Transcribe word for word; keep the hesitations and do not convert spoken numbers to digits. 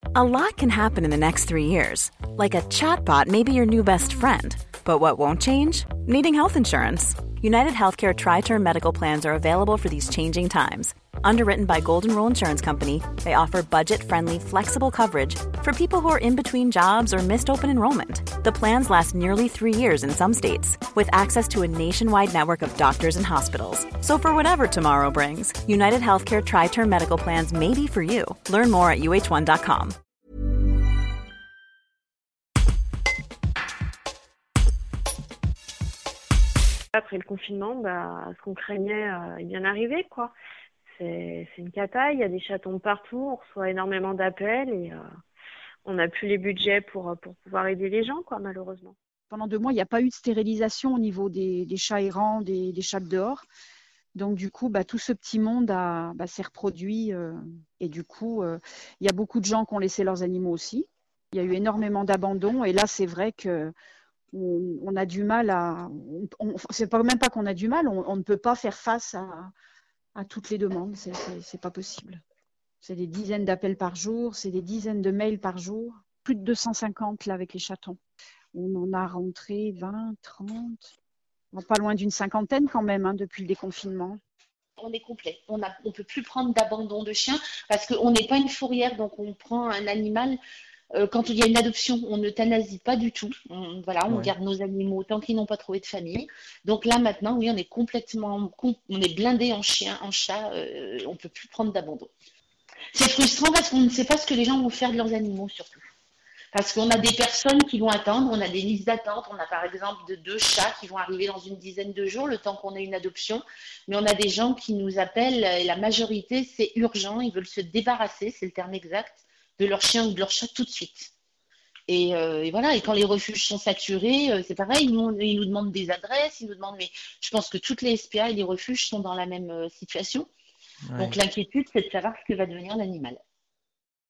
A lot can happen in the next three years. Like a chatbot may be your new best friend. But what won't change? Needing health insurance. United Healthcare Tri-Term Medical Plans are available for these changing times. Underwritten by Golden Rule Insurance Company, they offer budget-friendly, flexible coverage for people who are in between jobs or missed open enrollment. The plans last nearly three years in some states, with access to a nationwide network of doctors and hospitals. So for whatever tomorrow brings, United Healthcare Tri-Term Medical Plans may be for you. Learn more at U H one dot com. Après le confinement, bah, ce qu'on craignait euh, est bien arrivé, quoi. C'est, c'est une cata, il y a des chatons de partout, on reçoit énormément d'appels et euh, on n'a plus les budgets pour, pour pouvoir aider les gens, quoi, malheureusement. Pendant deux mois, il n'y a pas eu de stérilisation au niveau des, des chats errants, des, des chats de dehors. Donc du coup, bah, tout ce petit monde a, bah, s'est reproduit euh, et du coup, euh, il y a beaucoup de gens qui ont laissé leurs animaux aussi. Il y a eu énormément d'abandon et là, c'est vrai que on, on a du mal à... On, on, c'est pas, même pas qu'on a du mal, on, on ne peut pas faire face à, à toutes les demandes, c'est, c'est, c'est pas possible. C'est des dizaines d'appels par jour, c'est des dizaines de mails par jour. Plus de deux cent cinquante là avec les chatons. On en a rentré vingt, trente, pas loin d'une cinquantaine quand même hein, depuis le déconfinement. On est complet. On ne on peut plus prendre d'abandon de chien parce qu'on n'est pas une fourrière, donc on prend un animal. Euh, quand il y a une adoption, on euthanasie pas du tout. On, voilà, on ouais. garde nos animaux tant qu'ils n'ont pas trouvé de famille. Donc là maintenant, oui, on est complètement, on est blindé en chien, en chat. Euh, on ne peut plus prendre d'abandon. C'est frustrant parce qu'on ne sait pas ce que les gens vont faire de leurs animaux surtout. Parce qu'on a des personnes qui vont attendre, on a des listes d'attente. On a par exemple de deux chats qui vont arriver dans une dizaine de jours, le temps qu'on ait une adoption. Mais on a des gens qui nous appellent et la majorité, c'est urgent. Ils veulent se débarrasser, c'est le terme exact, de leur chien ou de leur chat tout de suite. Et, euh, et voilà. Et quand les refuges sont saturés, euh, c'est pareil. Ils nous, ils nous demandent des adresses, ils nous demandent. Mais je pense que toutes les S P A et les refuges sont dans la même euh, situation. Ouais. Donc l'inquiétude, c'est de savoir ce que va devenir l'animal.